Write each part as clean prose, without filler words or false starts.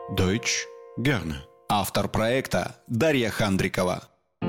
Deutsch gerne. Автор проекта Дарья Хандрикова.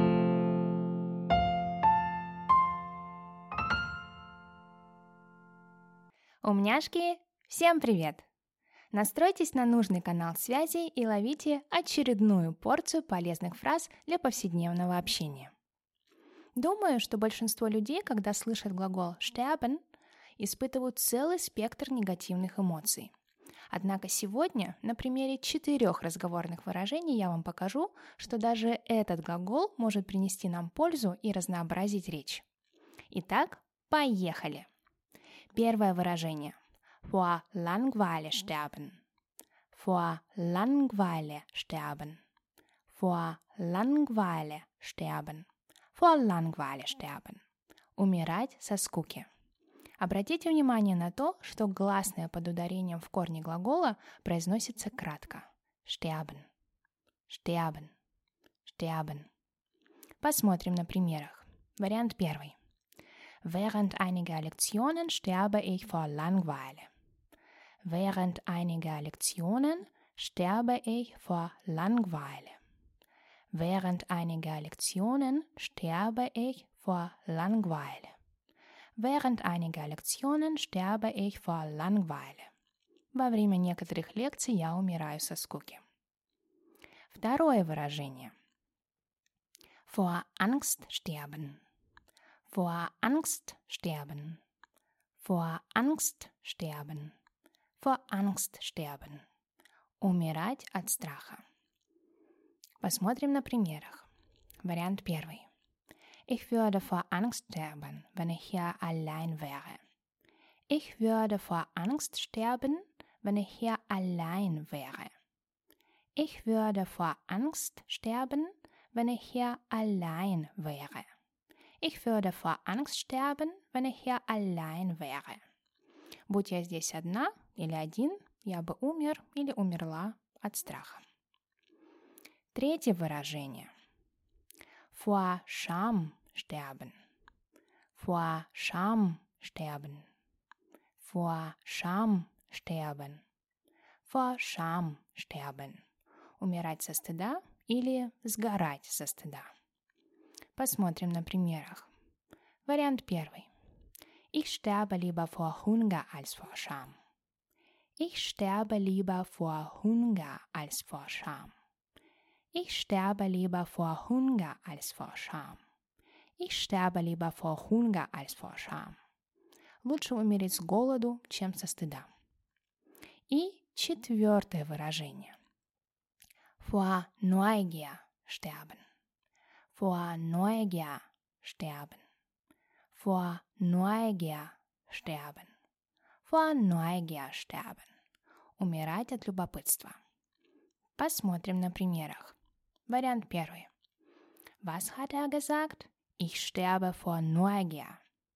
Умняшки, всем привет! Настройтесь на нужный канал связи и ловите очередную порцию полезных фраз для повседневного общения. Думаю, что большинство людей, когда слышат глагол sterben, испытывают целый спектр негативных эмоций. Однако сегодня на примере 4 разговорных выражений я вам покажу, что даже этот глагол может принести нам пользу и разнообразить речь. Итак, поехали! Первое выражение. Vor Langeweile sterben. Vor Langeweile sterben. Vor Langeweile sterben. Vor Langeweile sterben. Умирать со скуки. Обратите внимание на то, что гласное под ударением в корне глагола произносится кратко. Sterben. Sterben. Sterben. Посмотрим на примерах. Вариант первый. Während einiger Lektionen sterbe ich vor Langeweile. Während einiger Lektionen sterbe ich vor Langeweile. Während einiger Lektionen sterbe ich vor Langeweile. Während einiger Lektionen sterbe ich vor Langeweile. Во время некоторых лекций я умираю со скуки. Второе выражение. Vor Angst sterben. Vor Angst sterben. Vor Angst sterben. Vor Angst sterben. Умирать от страха. Посмотрим на примерах. Вариант первый. Ich würde vor Angst sterben, wenn ich hier allein wäre. Ich würde vor Angst sterben, wenn ich hier allein wäre. Ich würde vor Angst sterben, wenn ich hier allein wäre. Ich würde vor Angst sterben, wenn ich hier allein wäre. Будь я здесь одна или один, я бы умер или умерла от страха. Третье выражение. Vor Scham sterben. Vor Scham sterben. Vor Scham sterben. Vor Scham sterben. Умирать со стыда или сгорать со стыда. Посмотрим на примерах. Вариант первый. Ich sterbe lieber vor Hunger als vor Scham. Ich sterbe lieber vor Hunger als vor Scham. Ich sterbe lieber vor Hunger als vor Scham. Ich sterbe lieber vor Hunger als vor Scham. Лучше умереть с голоду, чем со стыда. И четвертое выражение. Vor Neugier sterben. Vor Neugier sterben. Vor Neugier sterben. Vor Neugier sterben. Умирать от любопытства. Посмотрим на примерах. Вариант первый. Was hat er gesagt? Ich sterbe vor Neugier.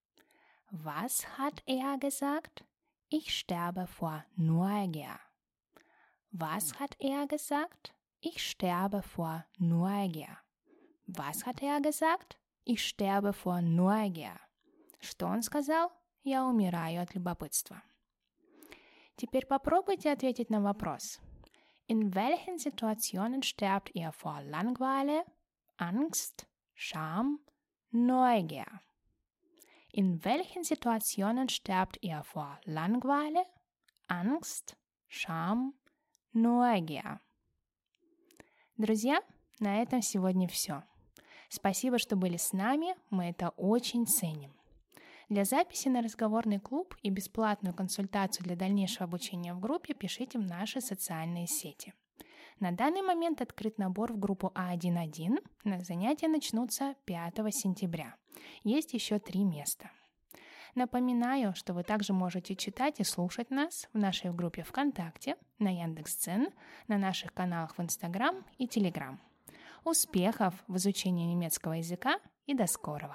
Was hat er gesagt? Ich sterbe vor Neugier. Was hat er gesagt? Ich sterbe vor Neugier. Was hat er gesagt? Ich sterbe vor Neugier. Что он сказал? Я умираю от любопытства. Теперь попробуйте ответить на вопрос. In welchen Situationen sterbt ihr vor Langeweile, Angst, Scham, Neugier? In welchen Situationen sterbt ihr vor Langeweile, Angst, Scham, Neugier? Друзья, на этом сегодня все. Спасибо, что были с нами, мы это очень ценим. Для записи на разговорный клуб и бесплатную консультацию для дальнейшего обучения в группе пишите в наши социальные сети. На данный момент открыт набор в группу А1.1. Занятия начнутся 5 сентября. Есть еще 3 места. Напоминаю, что вы также можете читать и слушать нас в нашей группе ВКонтакте, на Яндекс.Дзен, на наших каналах в Инстаграм и Телеграм. Успехов в изучении немецкого языка и до скорого!